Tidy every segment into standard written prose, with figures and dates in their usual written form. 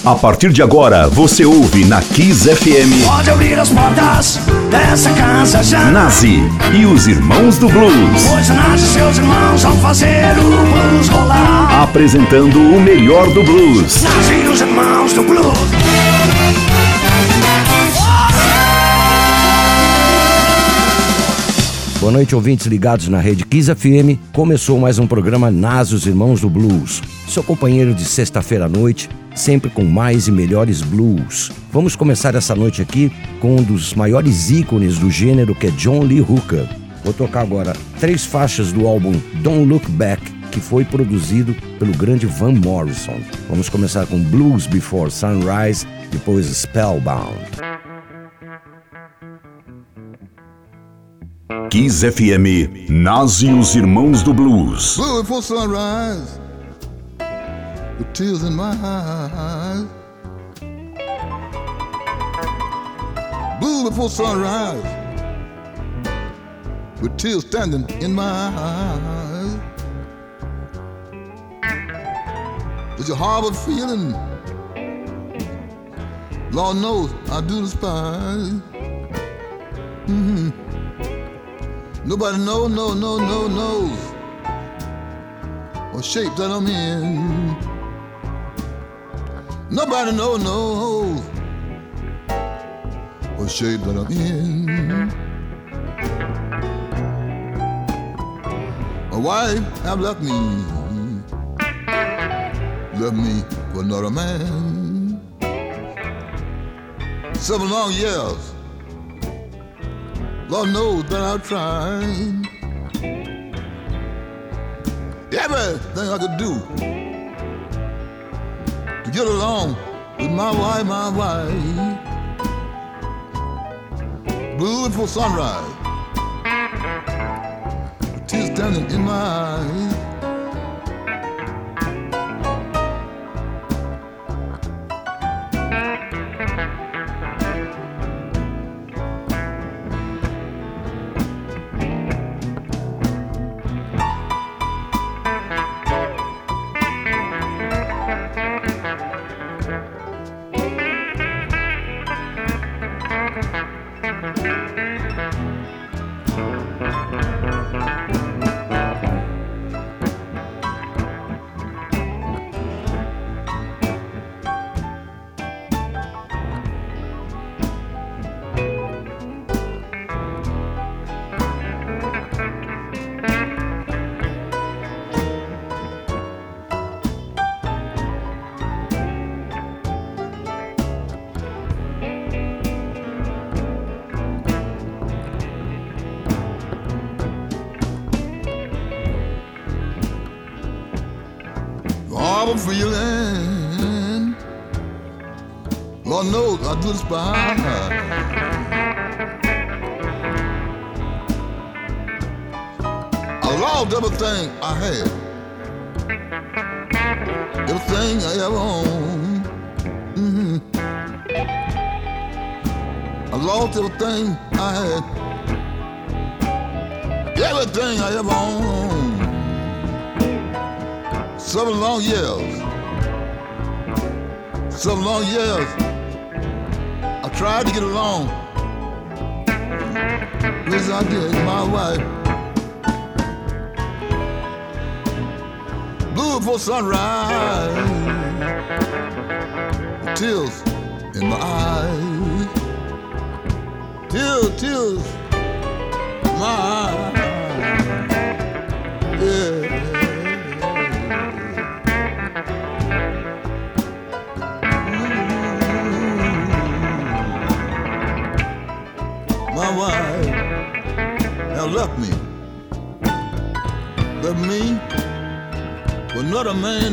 A partir de agora, você ouve na Kiss FM. Pode abrir as portas dessa casa já. Nazi e os Irmãos do Blues. Hoje Nazi e seus irmãos vão fazer o blues rolar. Apresentando o melhor do blues. Nazi e os Irmãos do Blues. Boa noite, ouvintes ligados na Rede Kiss FM. Começou mais um programa Nazi e os Irmãos do Blues. Seu companheiro de sexta-feira à noite, sempre com mais e melhores blues. Vamos começar essa noite aqui com um dos maiores ícones do gênero, que é John Lee Hooker. Vou tocar agora 3 faixas do álbum Don't Look Back, que foi produzido pelo grande Van Morrison. Vamos começar com Blues Before Sunrise, depois Spellbound. Kiss FM, Nazi e os Irmãos do Blues. Blue before sunrise, with tears in my eyes. Blue before sunrise, with tears standing in my eyes. Did you harbor feeling? Lord knows I do despise. Nobody knows what shape that I'm in. Nobody knows what shape that I'm in. My wife have left me for another man. 7 long years. Lord knows that I've tried everything I could do to get along with my wife. Blue before sunrise, with tears standing in my eyes. I'm feeling, Lord knows I do despise. I lost everything I had, everything I ever owned. I lost everything I had, everything I ever owned. 7 long years, 7 long years, I tried to get along, yes I did, my wife. Blue before sunrise, tears in my eyes, tears in my eyes, yeah. My wife has left me for another man.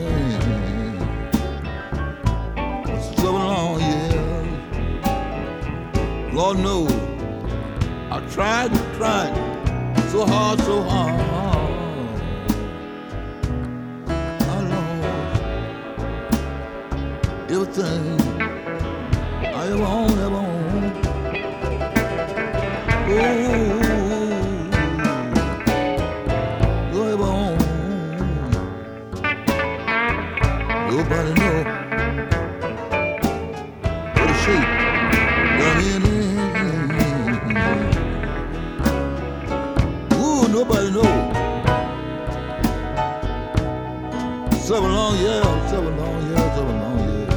7 long years, Lord knows I tried so hard. I lost everything I ever owned. Nobody know shape. Ooh, nobody knows. 7 long years, 7 long years, 7 long years.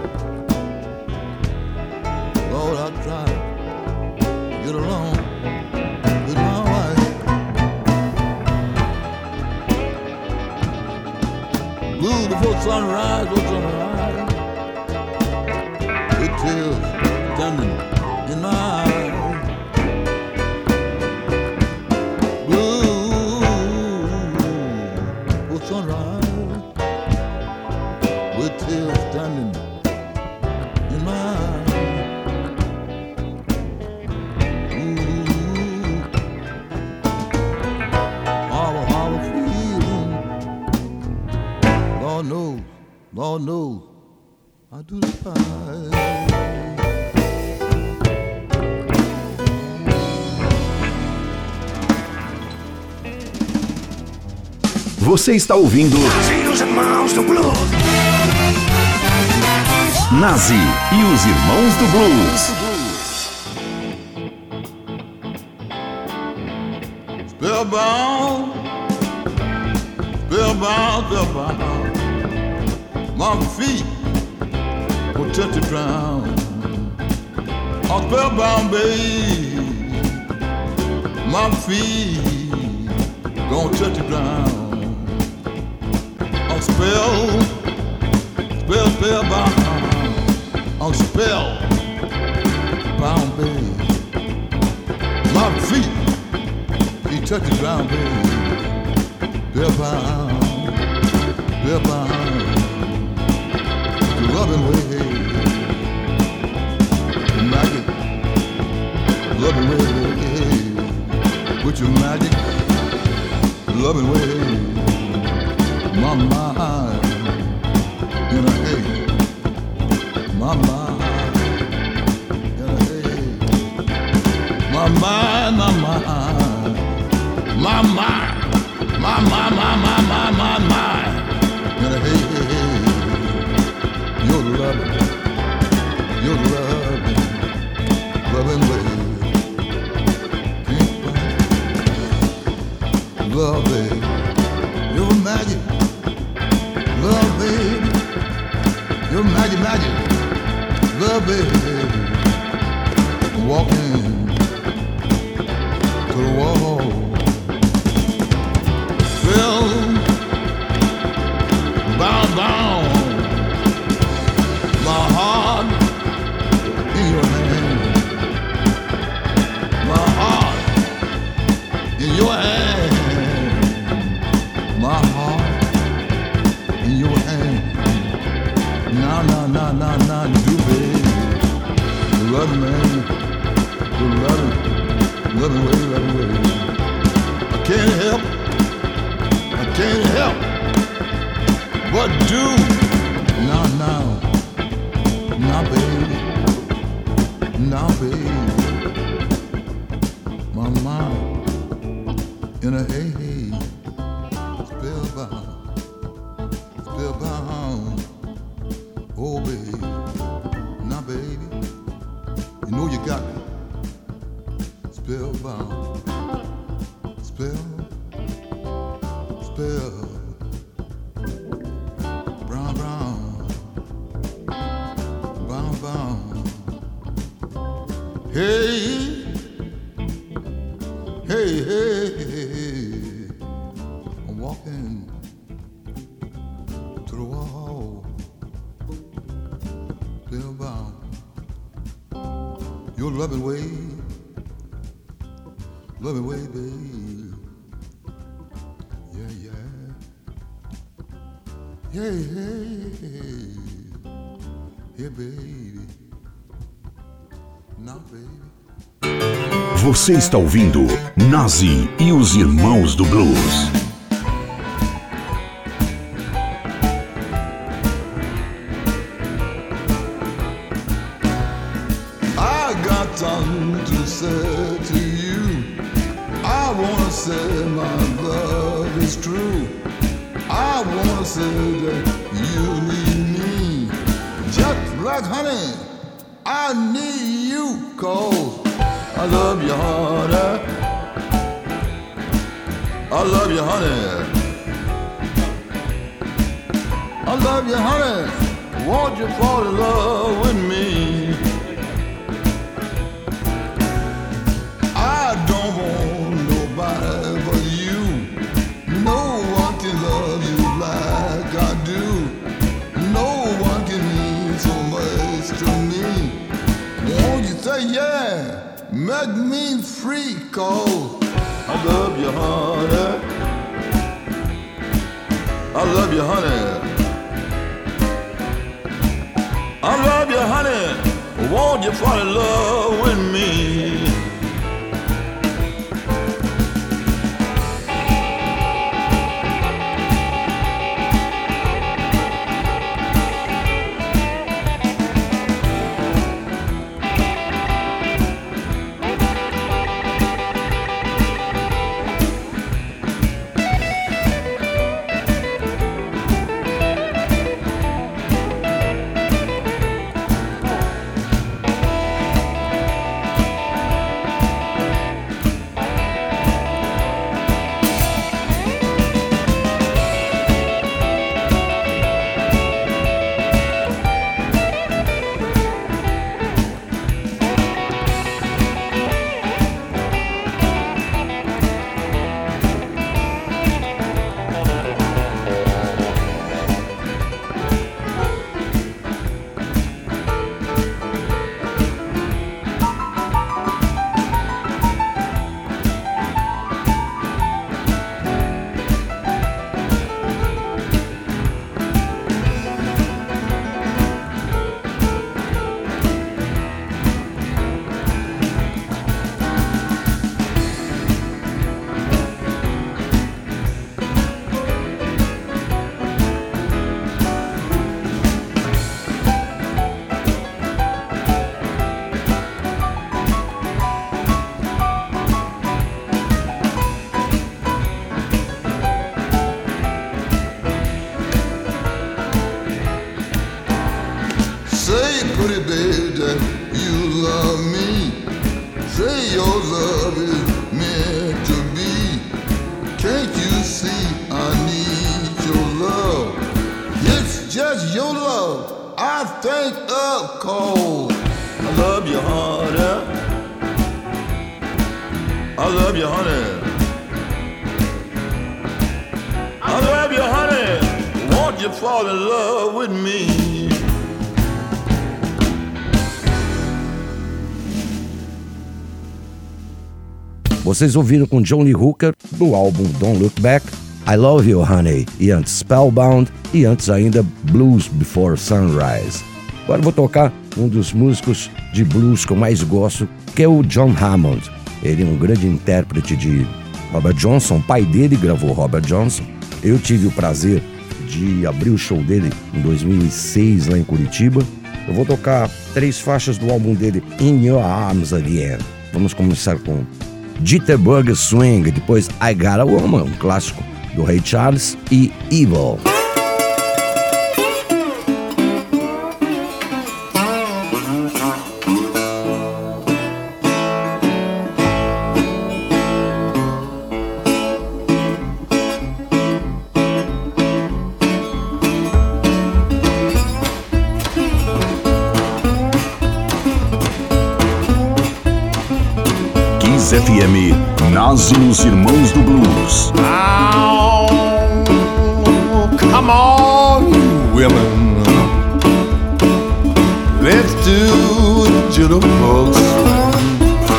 Lord, I tried to get along with my wife. Blue before sunrise, before sunrise. With tears standing in my eyes. Blue before sunrise. With tears standing in my eyes. Ooh, how I feeling. Lord knows, I do despise. Você está ouvindo Nazi e os Irmãos do Blues. Nazi e os Irmãos do Blues. Spellbound, spellbound, spellbound. My feet will touch the ground. I'm spellbound, babe. My feet gonna touch the ground. I'm spellbound. I'm spellbound, babe. My feet, he touch the ground, babe. Spellbound, spellbound. The loving way, the magic, loving way, with your magic, loving way, my mind in a haze, my mind in a haze, my mind, my mind, my mind, my mind in a haze. Your loving way. Can't find love, baby. Your magic, love, baby. Your magic, love, baby. Walking to the wall. Well, bound. My heart in your hand. My heart in your hand. My heart in your hand. Now, do baby. You love me, you love me way. I can't help but do. Now, baby, my mind in a haze, spellbound, oh baby, now baby, you know you got me, spellbound, brown. Hey, I'm walking to the wall, spellbound. Your loving way, baby. Yeah, baby. Now, baby. Você está ouvindo Nazi e os Irmãos do Blues. I got something to say to you. I wanna say my love is true. I wanna say that you need me just like honey I need you, 'cause I love you, honey. I love you, honey. I love you, honey. Won't you fall in love with me? I don't want nobody but you. No one can love you like I do. No one can mean so much to me. Won't you say yeah? Make me free, 'cause I love you, honey. I love you, honey. I love you, honey. Won't you fall in love with me? Pretty baby that you love me. Say your love is meant to be. Can't you see I need your love? It's just your love I think of, 'cause I love you, honey. I love you, honey. I love you, honey. Won't you fall in love with me? Vocês ouviram com John Lee Hooker do álbum Don't Look Back, I Love You Honey, e antes Spellbound, e antes ainda Blues Before Sunrise. Agora eu vou tocar um dos músicos de blues que eu mais gosto, que é o John Hammond. Ele é um grande intérprete de Robert Johnson, o pai dele gravou Robert Johnson. Eu tive o prazer de abrir o show dele em 2006 lá em Curitiba. Eu vou tocar 3 faixas do álbum dele, In Your Arms Again. Vamos começar com Jitterbug Swing, depois I Got a Woman, um clássico do Ray Charles, e Evil. FM, Nazi e os Irmãos do Blues. Oh, come on, you women. Let's do the jitterbug swing.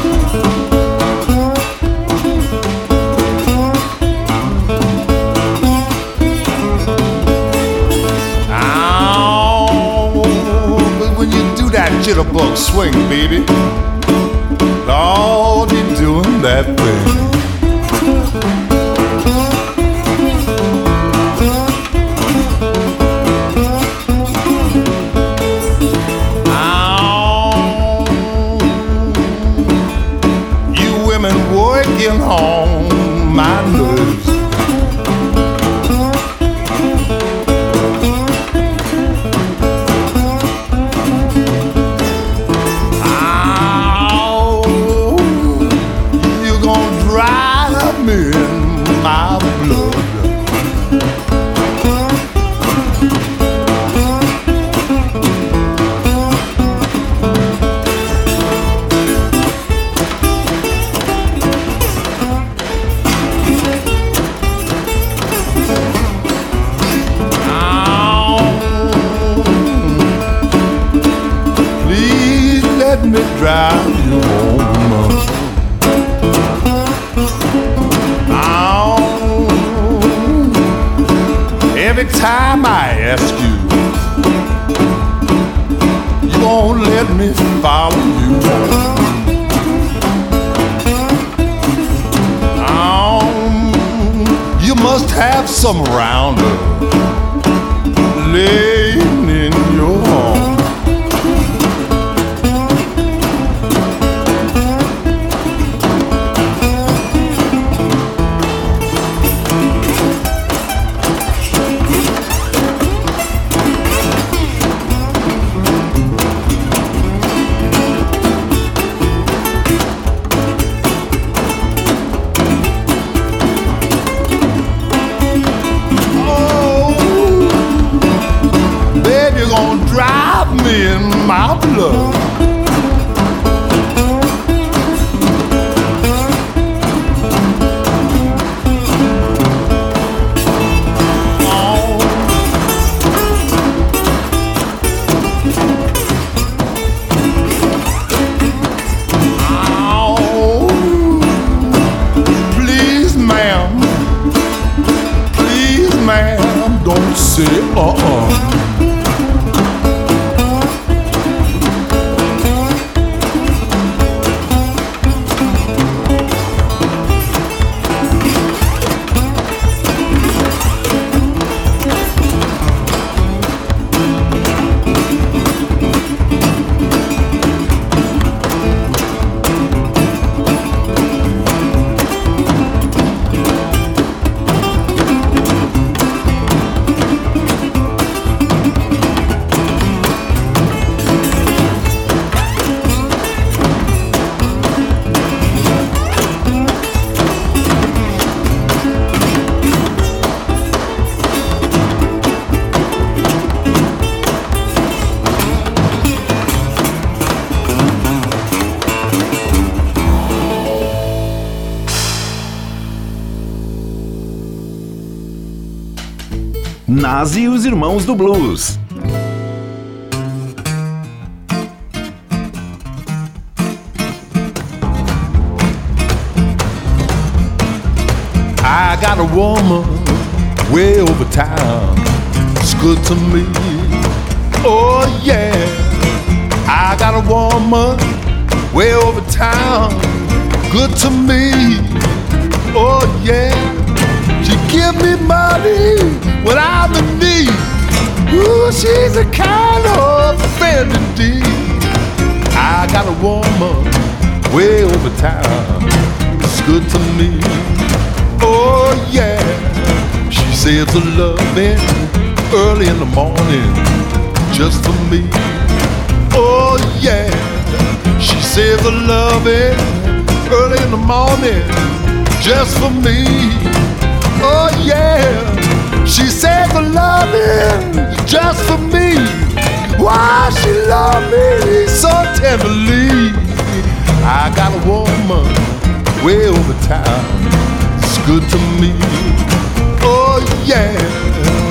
Oh, but when you do that jitterbug swing, baby, Lord, you're doing that thing. Oh, you women working on my nerves. let me drive you home. Every time I ask you, you won't let me follow you. You must have some rounder laying in your home. Drive me in my blood. Please, ma'am, don't say Nas e os Irmãos do Blues. I got a woman way over town. It's good to me. Oh yeah. I got a woman way over town. Good to me. Oh yeah. She give me money when I'm in need. Ooh, she's a kind of friend indeed. I got a woman way over town. It's good to me. Oh yeah. She saves her loving early in the morning just for me. Oh yeah. She saves her loving early in the morning just for me. Oh yeah, she saves her loving just for me. Why she love me so tenderly. I got a woman way over town. It's good to me. Oh yeah.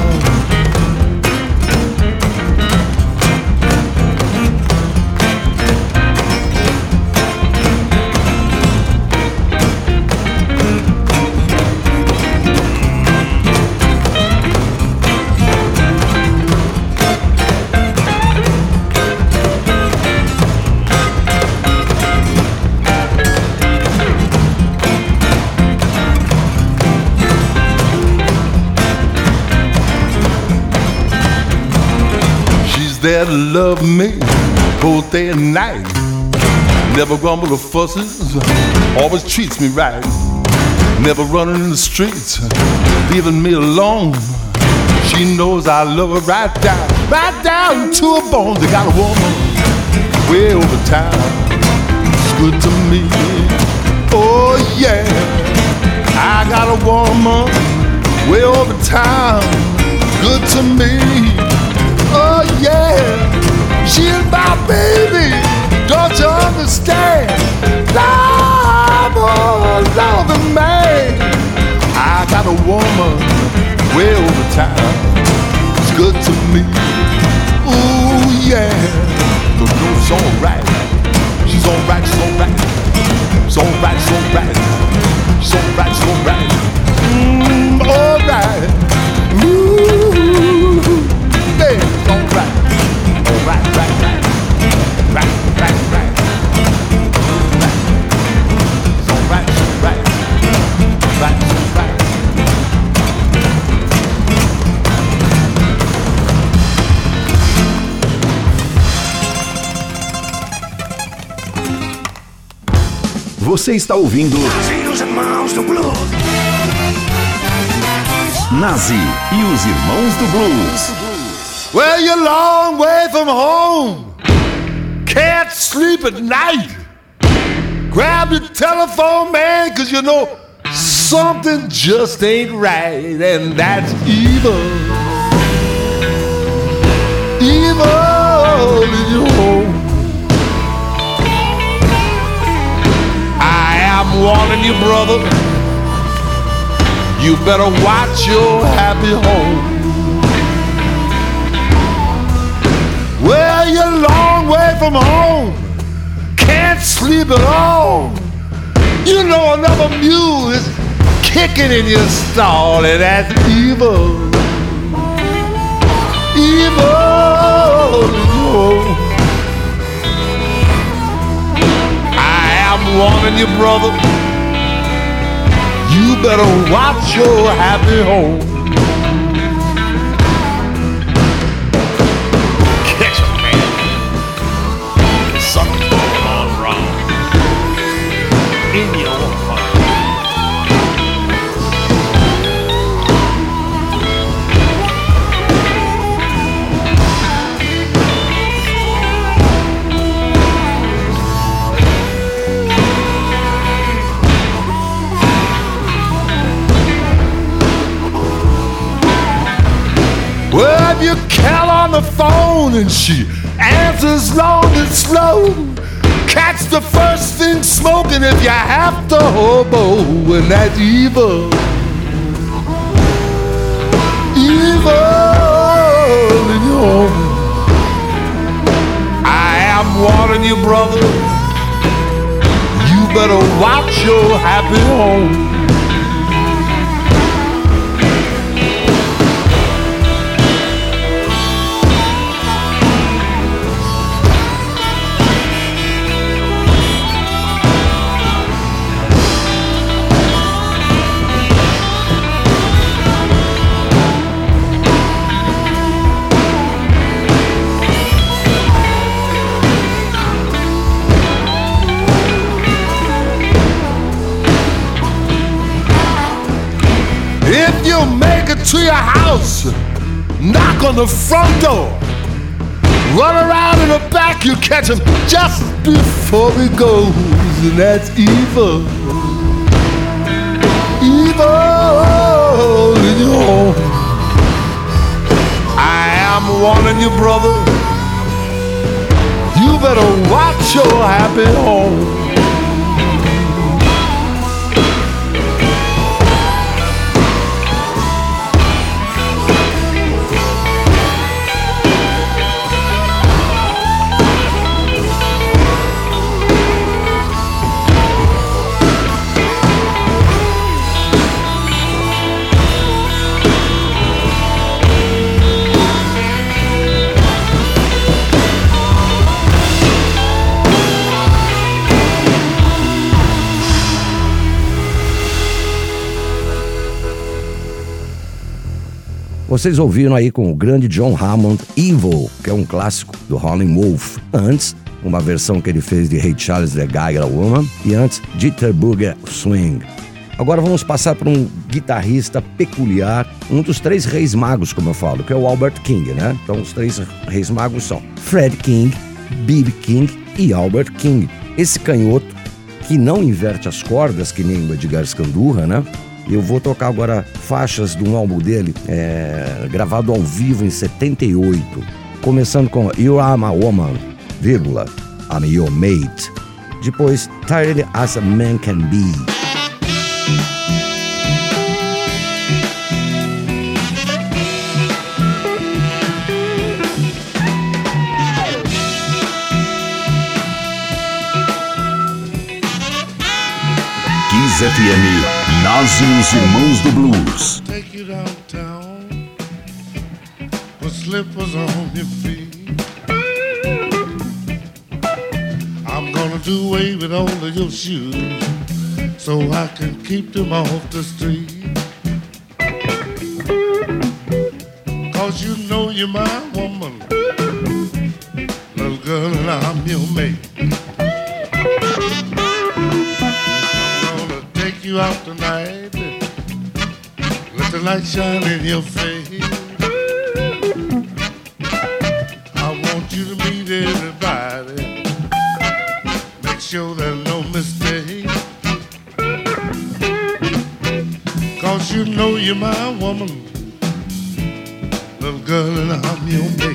There to love me both day and night. Never grumble or fusses, always treats me right. Never running in the streets, leaving me alone. She knows I love her right down to her bones. I got a woman way over town. It's good to me. Oh yeah, I got a woman way over town. Good to me. Oh yeah, she's my baby, don't you understand? I'm a loving man. I got a woman way over town. It's good to me. Ooh yeah, the groov's alright. So right, so right, so right, so right. All right. Ooh, yeah, so right. All right, right, right. Right, right, right. Right. So right, so right. Right, so right. Você está ouvindo Nazi e os Irmãos do Blues. Nazi e os Irmãos do Blues. Well, you're a long way from home. Can't sleep at night. Grab your telephone, man, 'cause you know something just ain't right, and that's evil. Evil in your home. I'm warning you, brother, you better watch your happy home. Well, you're a long way from home, can't sleep at all. You know another mule is kicking in your stall, and that's evil. Evil in your home. I'm warning you, brother, you better watch your happy home. Catch him, man. Something's going on wrong in your heart. Well, if you count on the phone and she answers long and slow, catch the first thing smoking if you have to hobo, and that's evil. Evil in your home. I am warning you, brother, you better watch your happy home. If you make it to your house, knock on the front door, run around in the back, you catch him just before he goes, and that's evil. Evil in your home. I am warning you, brother, you better watch your happy home. Vocês ouviram aí com o grande John Hammond, Evil, que é um clássico do Howlin' Wolf. Antes, uma versão que ele fez de Ray Charles, The Guy and a Woman, e antes, Jitterbug Swing. Agora vamos passar para um guitarrista peculiar, um dos três reis magos, como eu falo, que é o Albert King, né? Então os três reis magos são Fred King, B.B. King e Albert King. Esse canhoto, que não inverte as cordas, que nem o Edgar Scandurra, né? Eu vou tocar agora faixas de um álbum dele, gravado ao vivo em 78, começando com You Are My Woman, vírgula, I'm Your Mate. Depois, Tired As a Man Can Be. FM, Nazi e os Irmãos do Blues. Take you downtown with slippers on your feet. I'm gonna do away with all of your shoes so I can keep them off the street. 'Cause you know you're my woman, little girl, and I'm your mate. I'm gonna take you out tonight, let the light shine in your face. I want you to meet everybody, make sure there's no mistake. 'Cause you know you're my woman, little girl, and I'm your mate.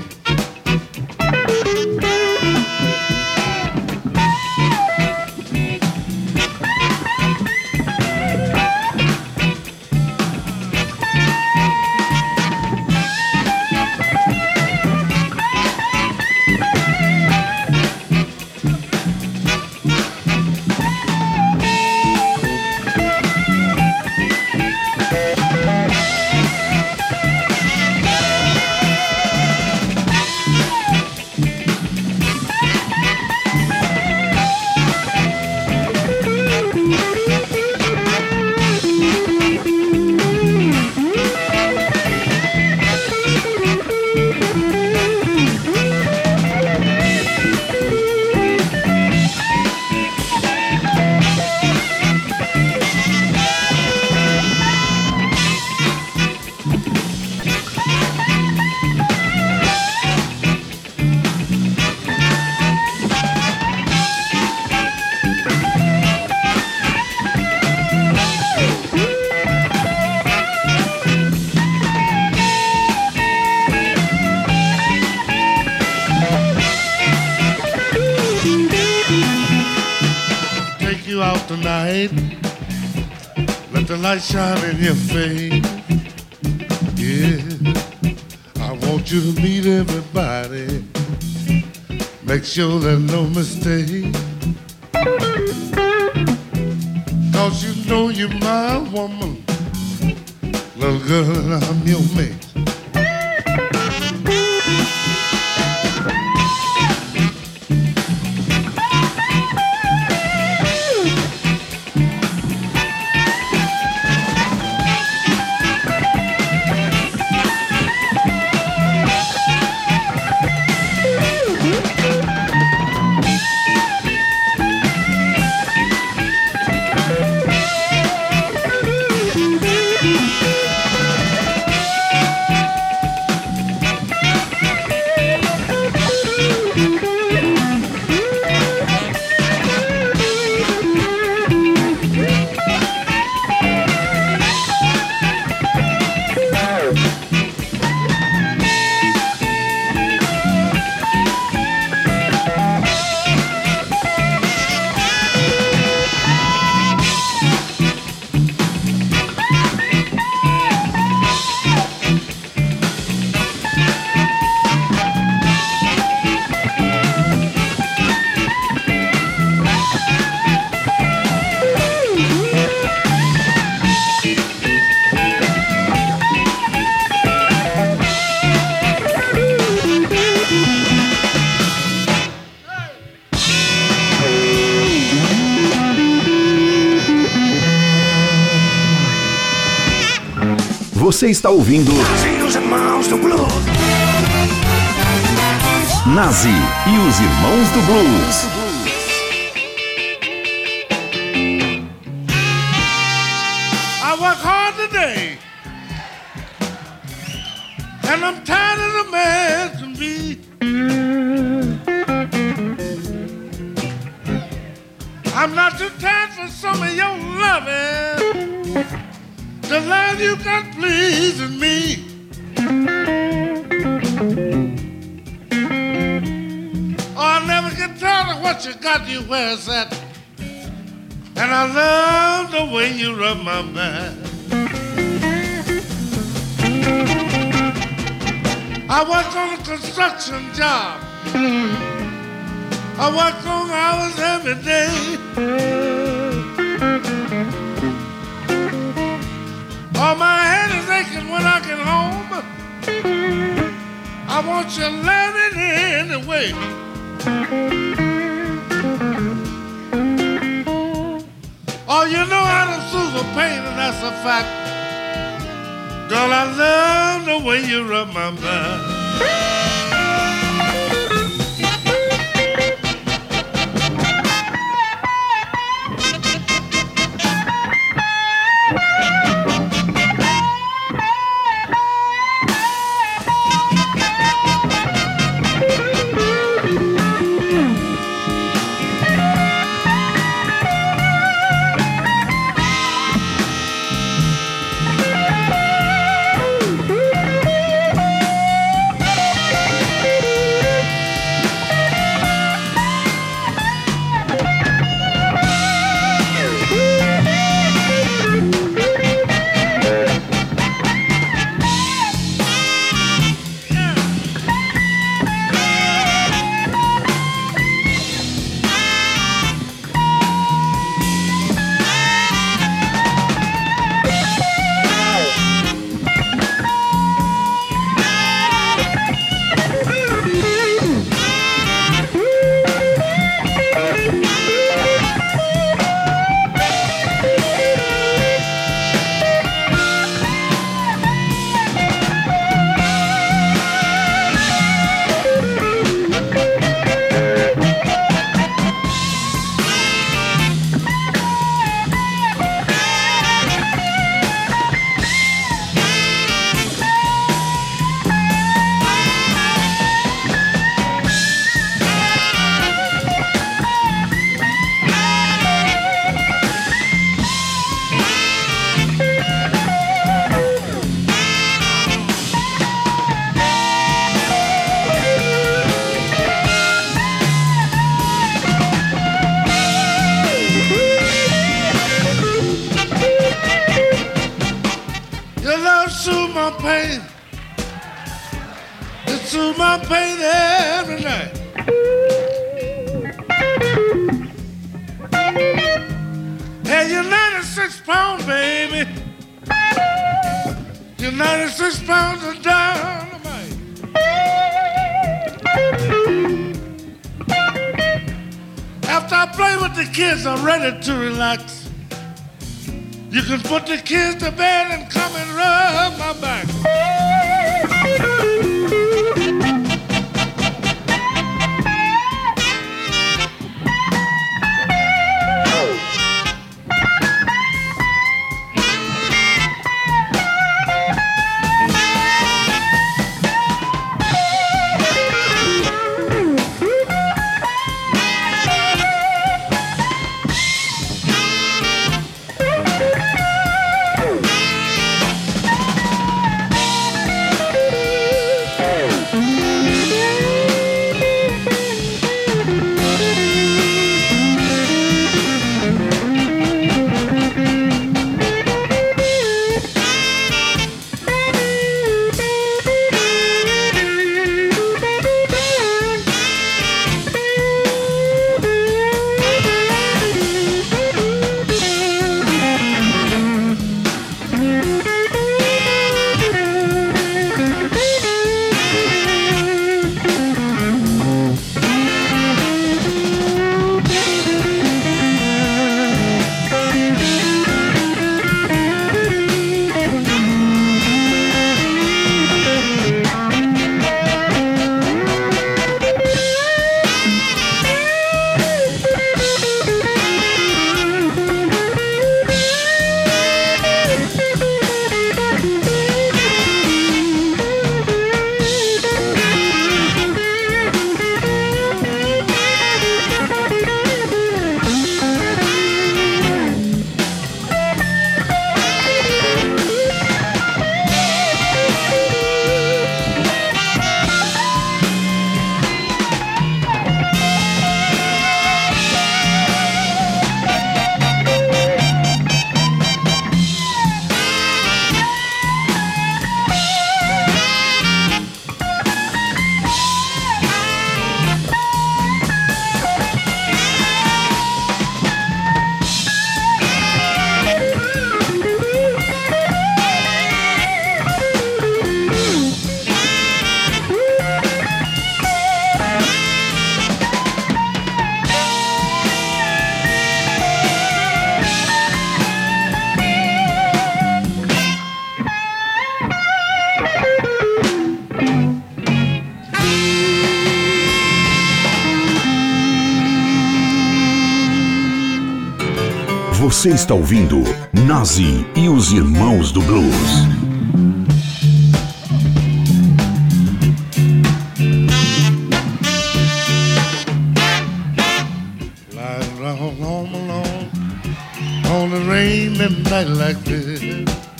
Tonight, let the light shine in your face. Yeah, I want you to meet everybody, make sure there's no mistake. 'Cause you know you're my woman, little girl, and I'm your mate. Você está ouvindo Nazi e os Irmãos do Blues. Nazi e os Irmãos do Blues. I work hard today, and I'm tired of the man can be. I'm not too tired for some of your loving, the love you got pleasing me. Oh, I never get tired of what you got you where it's at. And I love the way you rub my back. I work on a construction job. I work long hours every day. While my head is aching when I get home, I want you loving anyway. Oh, you know how to soothe the pain, and that's a fact. Girl, I love the way you rub my back. pain. It soothes my pain every night. Hey, you're 96 pounds, baby. You're 96 pounds of dynamite. After I play with the kids, I'm ready to relax. You can put the kids to bed and come and rub my back. Você está ouvindo Nazi e os Irmãos do Blues. Lying around home alone on a rainy night like this,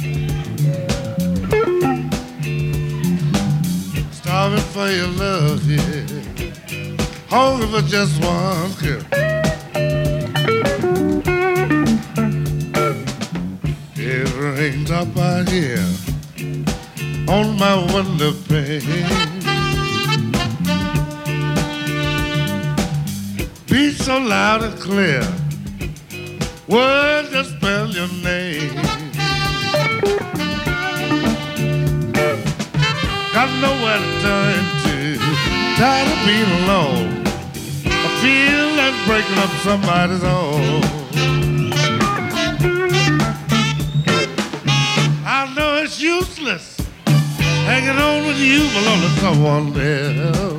starving for your love, yeah, hungry for just one kiss. It rains up out here on my window pane. Beat so loud and clear, words just spell your name. Got nowhere to turn to, tired of being alone. I feel like breaking up somebody's home. I know it's useless hanging on with you, belong to someone else.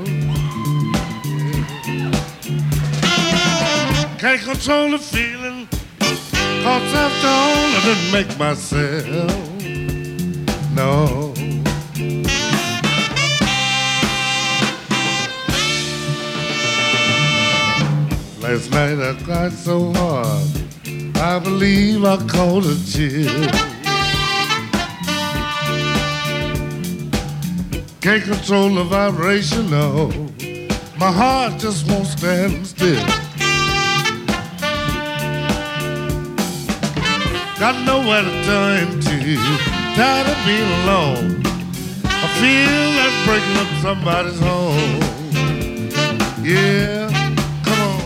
Can't control the feeling, 'cause after all I didn't make myself. No. Last night I cried so hard, I believe I caught a chill. Can't control the vibration, no. My heart just won't stand still. Got nowhere to turn to, tired of being alone. I feel like breaking up somebody's home. Yeah, come on.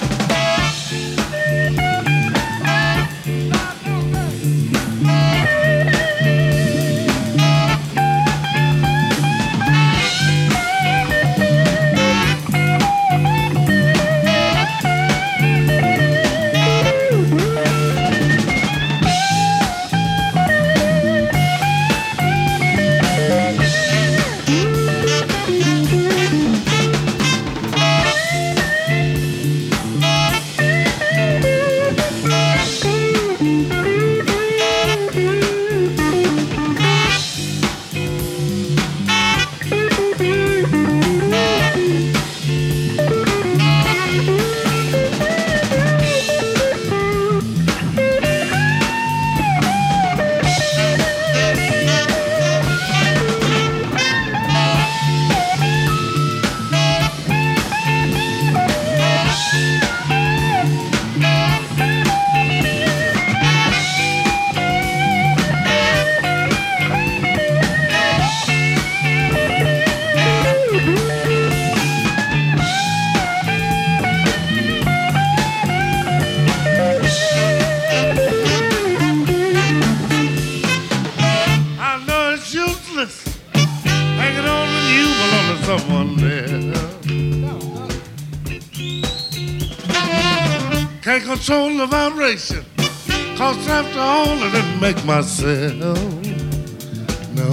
Can't control the vibration, 'cause after all I didn't make myself. No.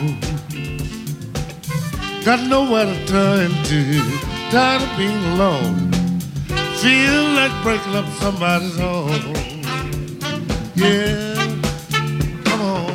Got nowhere to turn to, tired of being alone. Feel like breaking up somebody's home. Yeah, come on.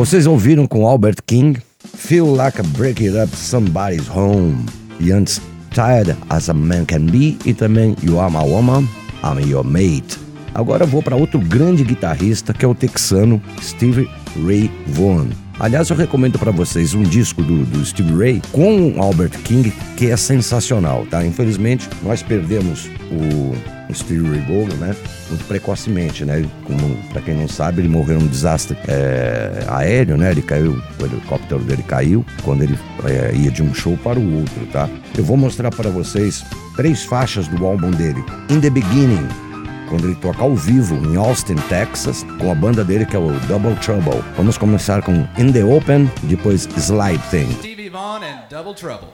Vocês ouviram com Albert King, Feel Like a Break It Up, Somebody's Home. E antes, Tired as a Man Can Be e também You Are My Woman, I'm Your Mate. Agora eu vou para outro grande guitarrista que é o texano Stevie Ray Vaughan. Aliás, eu recomendo para vocês um disco do Stevie Ray com Albert King que é sensacional, tá? Infelizmente, nós perdemos o Stevie Ray Vaughan, né? Muito precocemente, né? Para quem não sabe, ele morreu num desastre aéreo, né? Ele caiu, o helicóptero dele caiu quando ele ia de um show para o outro, tá? Eu vou mostrar para vocês 3 faixas do álbum dele. In the Beginning, quando ele toca ao vivo em Austin, Texas, com a banda dele que é o Double Trouble. Vamos começar com In the Open, depois Slide Thing. Stevie Vaughan and Double Trouble.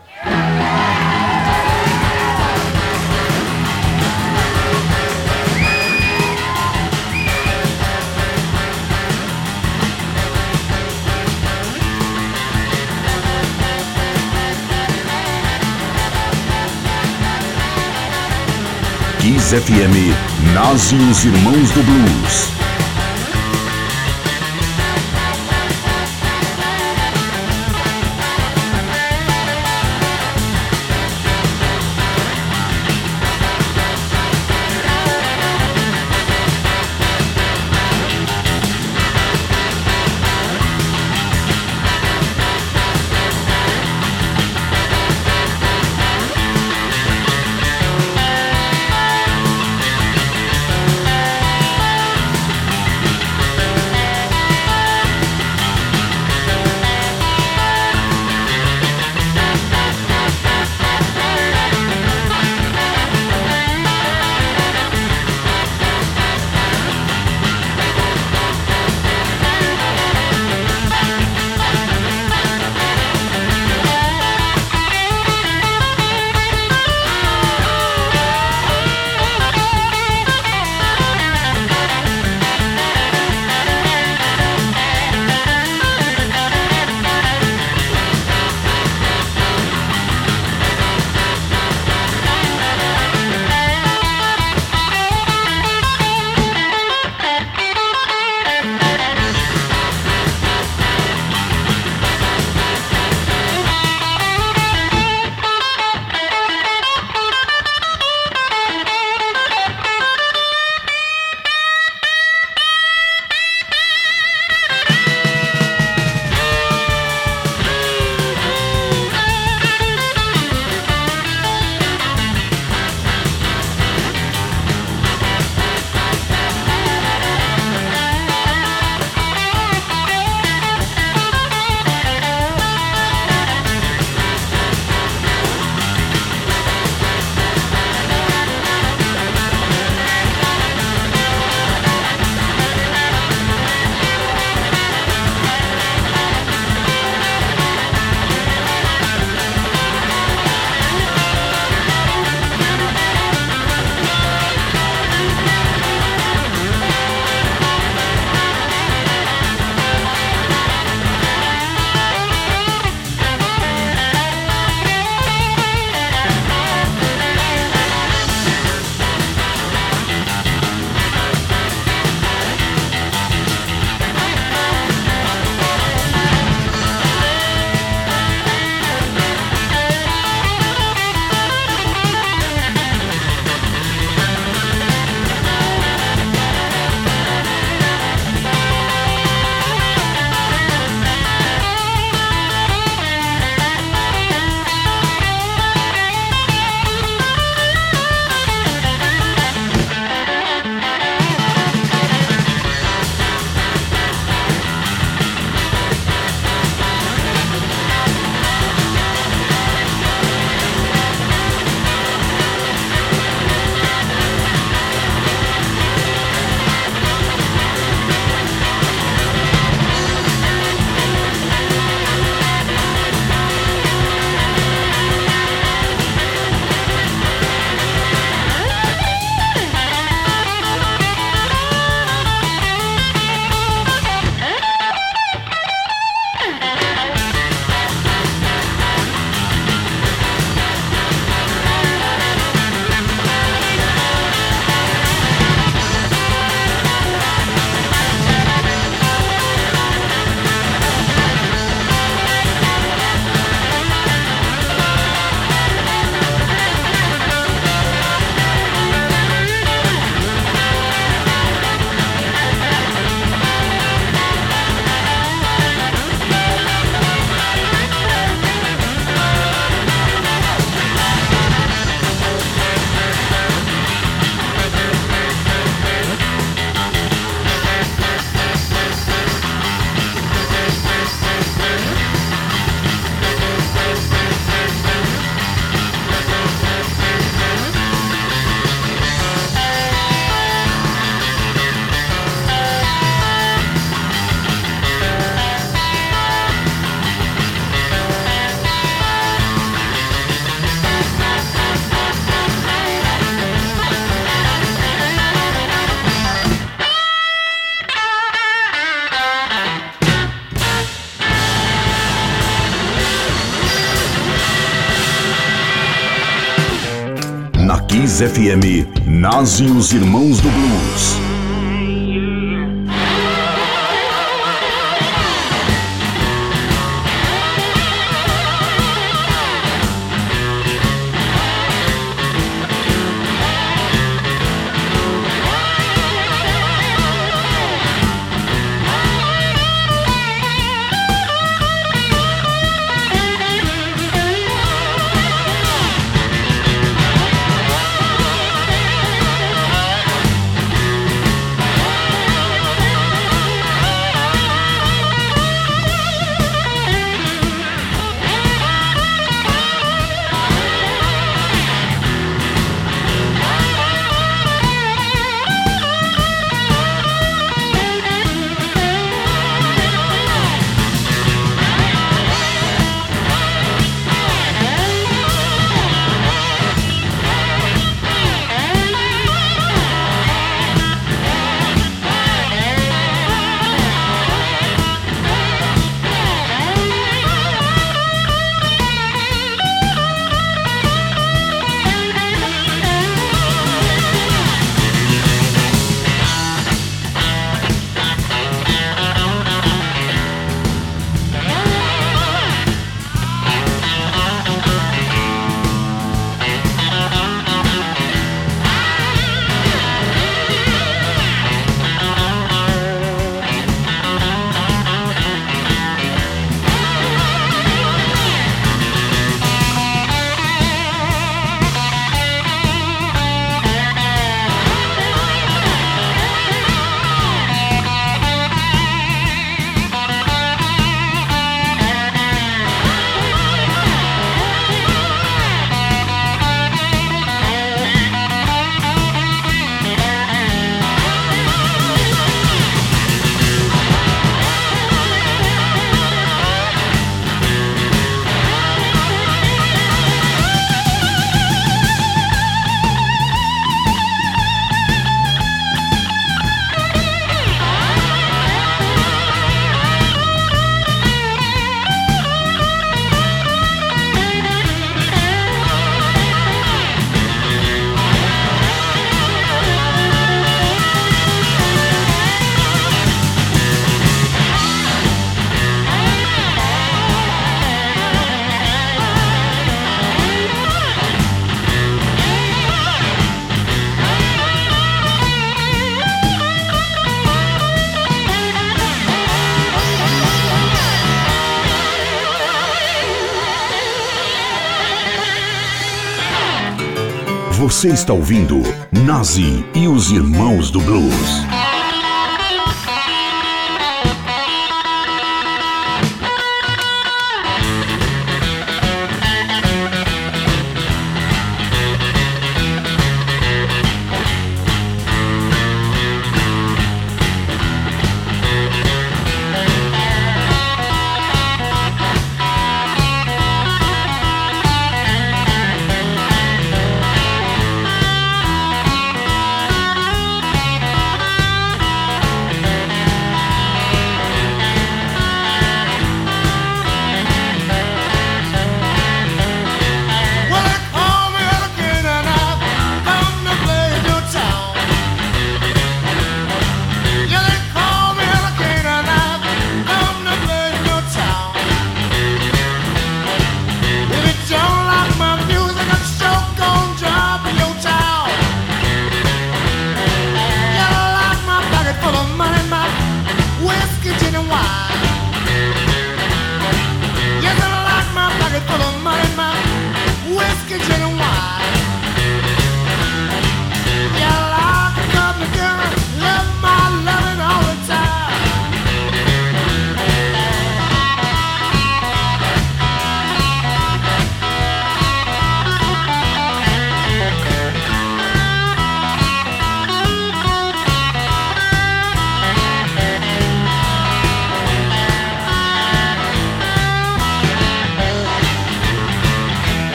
Kiss FM, Nós e os Irmãos do Blues. Kiss FM, Nas e os Irmãos do Blues. Você está ouvindo Nazi e os Irmãos do Blues.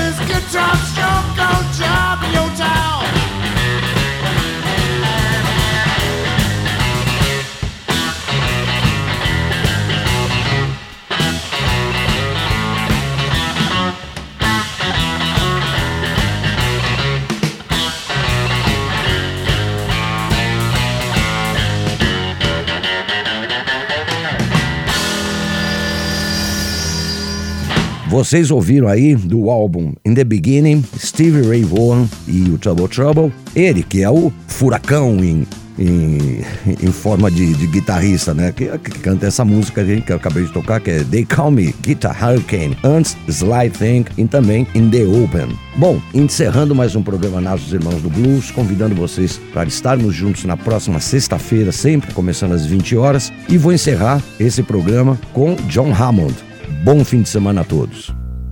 this guitar stroke gonna job in your town. Vocês ouviram aí do álbum In The Beginning, Stevie Ray Vaughan e o Trouble Trouble. Ele que é o furacão em forma de guitarrista, né? Que canta essa música que eu acabei de tocar, que é They Call Me Guitar Hurricane, antes Sly Thing e também In The Open. Bom, encerrando mais um programa Nasos Irmãos do Blues, convidando vocês para estarmos juntos na próxima sexta-feira, sempre começando às 20 horas, e vou encerrar esse programa com John Hammond. Bom fim de semana a todos.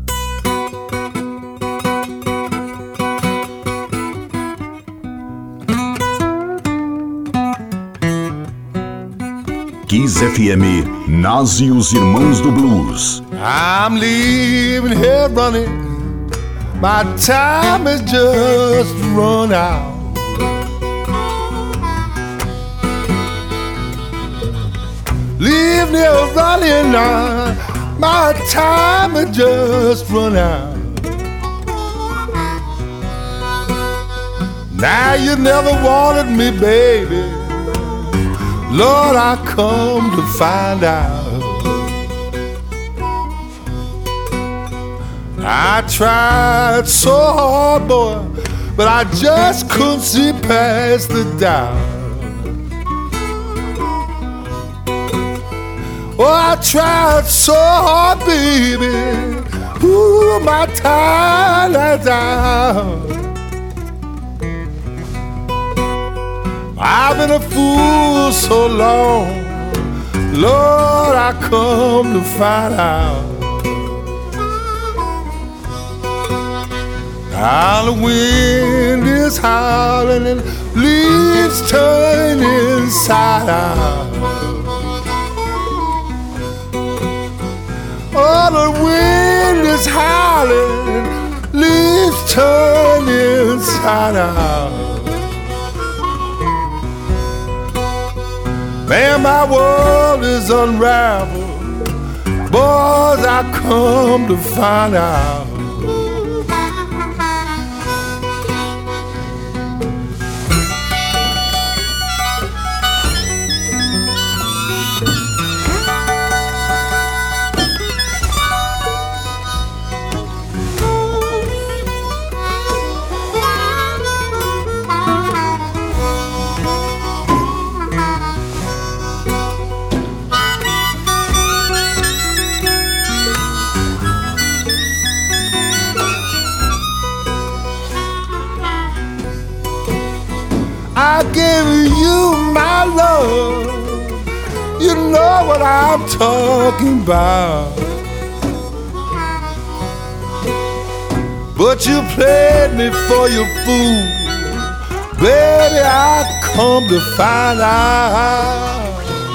Kiss FM, Nas e os Irmãos do Blues. I'm leaving here running. My time has just run out. Leave me running now. My time has just run out. Now you never wanted me, baby. Lord, I come to find out. I tried so hard, boy, but I just couldn't see past the doubt. Oh, I tried so hard, baby. Ooh, my time is out. I've been a fool so long, Lord, I come to find out. Now the wind is howling and leaves turn inside out. Oh, the wind is howling, leaves turn inside out. Man, my world is unraveled. Boys, I come to find out. I give you my love. You know what I'm talking about. But you played me for your fool. Baby, I come to find out.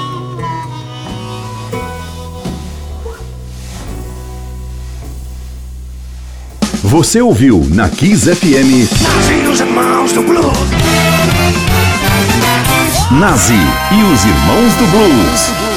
Você ouviu na Kiss FM Nas e os Irmãos do Blues. Nazi e os Irmãos do Blues.